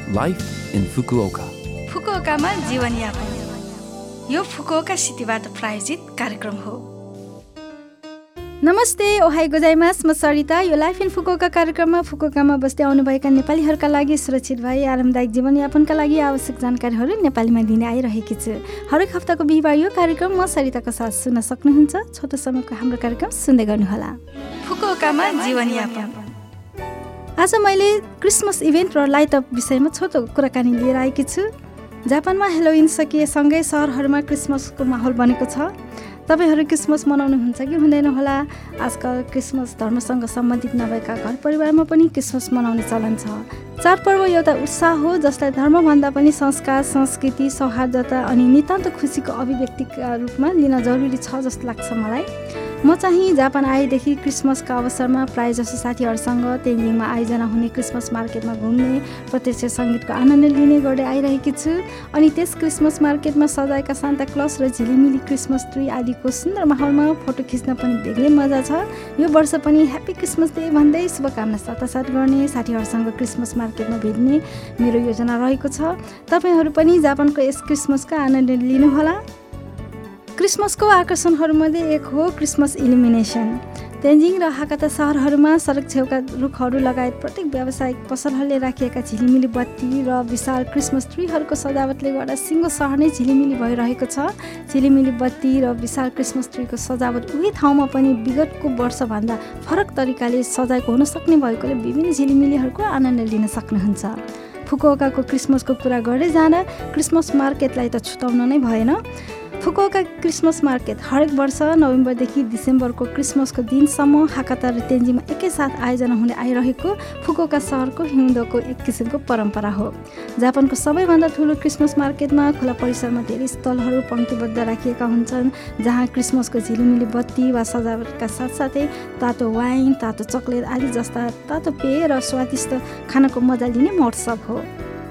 Life in Fukuoka. फुकुओकामा जीवनयापन यो Fukuoka सिटीबाट प्रायोजित कार्यक्रम हो। नमस्ते, ओहाई गोजाइमास, म सरिता। यो लाइफ इन फुकुओका कार्यक्रममा फुकुओकामा बस्दै आउनुभएका नेपालीहरूका लागि सुरक्षित भई आरामदायक जीवनयापनका लागि आवश्यक जानकारीहरू नेपालीमा दिने आइरहेकी छु। हरेक हप्ताको बिहिबार यो कार्यक्रम म सरिताको साथ सुन्न सक्नुहुन्छ। छोटो समयको हाम्रो कार्यक्रम सुन्दै गर्नुहोला। फुकुओकामा जीवनयापन। आज मैले क्रिसमस इभेन्ट र लाइट अप विषयमा छोटो कुराकानी लिएर आएकी छु। जापानमा हेलोविन सकिएसँगै सहरहरूमा क्रिसमसको माहौल बनेको छ। तपाईहरू क्रिसमस मनाउनुहुन्छ कि हुँदैन होला? आजकल क्रिसमस धर्मसँग सम्बन्धित नभएका घर परिवारमा पनि क्रिसमस मनाउने चलन छ। चाडपर्व एउटा उत्साह हो जसलाई धर्मभन्दा पनि संस्कार, संस्कृति, सौहार्दता अनि नितान्त खुसीको अभिव्यक्तिका रूपमा लिन जरुरी छ जस्तो लाग्छ मलाई। म चाहिँ जापान आएदेखि क्रिसमसका अवसरमा प्रायःजसो साथीहरूसँग तेन्जिङमा आयोजना हुने क्रिसमस मार्केटमा घुम्ने, प्रत्यक्ष सङ्गीतको आनन्द लिने गर्दै आइरहेकी छु। अनि त्यस क्रिसमस मार्केटमा सजाएका सान्ता क्लज र झिलिमिली क्रिसमस ट्री आदिको सुन्दर माहौलमा फोटो खिच्न पनि बेग्लै मजा छ। यो वर्ष पनि ह्याप्पी क्रिसमस डे भन्दै शुभकामना साटासाट गर्ने, साथीहरूसँग क्रिसमस मार्केटमा भेट्ने मेरो योजना रहेको छ। तपाईँहरू पनि जापानको यस क्रिसमसका आनन्द लिनुहोला। क्रिसमसको आकर्षणहरूमध्ये एक हो क्रिसमस इल्युमिनेसन। तेन्जिङ र हाकाता सहरहरूमा सडक छेउका रुखहरू लगायत प्रत्येक व्यावसायिक पसलहरूले राखिएका झिलिमिली बत्ती र विशाल क्रिसमस ट्रीहरूको सजावटले गर्दा सिङ्गो सहर नै झिलिमिली भइरहेको छ। झिलिमिली बत्ती र विशाल क्रिसमस ट्रीको सजावट उही ठाउँमा पनि विगतको वर्षभन्दा फरक तरिकाले सजाएको हुन सक्ने भएकोले विभिन्न झिलिमिलीहरूको आनन्द लिन सक्नुहुन्छ। फुकुओकाको क्रिसमसको कुरा गर्दै जाँदा क्रिसमस मार्केटलाई त छुटाउन नै भएन। फुकुओका क्रिसमस मार्केट हरेक वर्ष नोभेम्बरदेखि डिसेम्बरको क्रिसमसको दिनसम्म हाकाता र तेन्जिङमा एकैसाथ आयोजना हुँदै आइरहेको फुकुओका सहरको हिउँदको एक किसिमको परम्परा हो। जापानको सबैभन्दा ठुलो क्रिसमस मार्केटमा खुला परिसरमा धेरै स्टलहरू पङ्क्तिबद्ध राखिएका हुन्छन्, जहाँ क्रिसमसको झिलिमिली बत्ती वा सजावटका साथसाथै तातो वाइन, तातो चकलेट आदि जस्ता तातो पेय र स्वादिष्ट खानाको मजा लिने महोत्सव हो।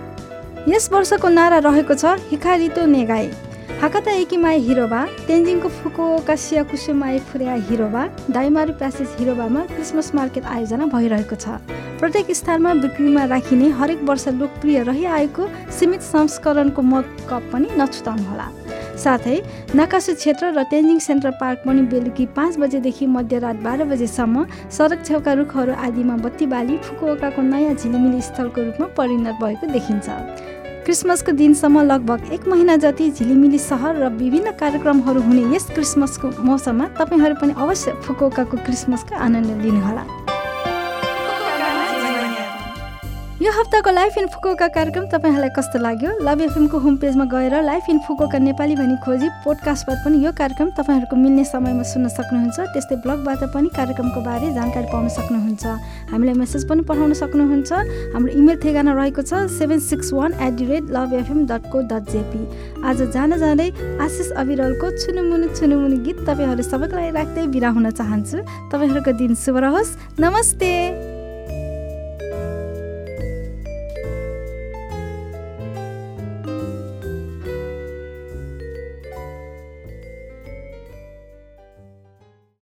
यस वर्षको नारा रहेको छ हिकारितो नेगाई, हाकाता एकिमाई हिरोबा, तेन्जिङको फुकुओका सियाकुसुमाई फुर्या हिरोबा, डाइमारु प्यासेज हिरोबामा क्रिसमस मार्केट आयोजना भइरहेको छ। प्रत्येक स्थानमा बिक्रीमा राखिने हरेक वर्ष लोकप्रिय रहिआएको सीमित संस्करणको मग कप पनि नछुटाउनुहोला। साथै नाकासु क्षेत्र र तेन्जिङ सेन्ट्रल पार्क पनि बेलुकी 5 बजेदेखि मध्यरात 12 बजेसम्म सडक छेउका रुखहरू आदिमा बत्ती बाली फुकुओकाको नयाँ झिलिमिली स्थलको रूपमा परिणत भएको देखिन्छ। क्रिसमसको दिनसम्म लगभग 1 महिना जति झिलिमिली सहर र विभिन्न कार्यक्रमहरू हुने यस क्रिसमसको मौसममा तपाईँहरू पनि अवश्य फुकुओकाको क्रिसमसको आनन्द लिनुहोला। यो हप्ताको लाइफ इन फुकुओका कार्यक्रम तपाईँहरूलाई कस्तो लाग्यो? लभ एफएमको होम पेजमा गएर लाइफ इन फुकुओका नेपाली भनी खोजी पोडकास्टबाट पनि यो कार्यक्रम तपाईँहरूको मिल्ने समयमा सुन्न सक्नुहुन्छ। त्यस्तै ब्लगबाट पनि कार्यक्रमको बारे जानकारी पाउन सक्नुहुन्छ। हामीलाई मेसेज पनि पठाउन सक्नुहुन्छ। हाम्रो इमेल ठेगाना रहेको छ 761@lovefm.co.jp। आज जाँदा जाँदै आशिष अविरलको छुनुमुनु गीत तपाईँहरू सबैको लागि राख्दै बिदा हुन चाहन्छु। तपाईँहरूको दिन शुभ रहोस्। नमस्ते।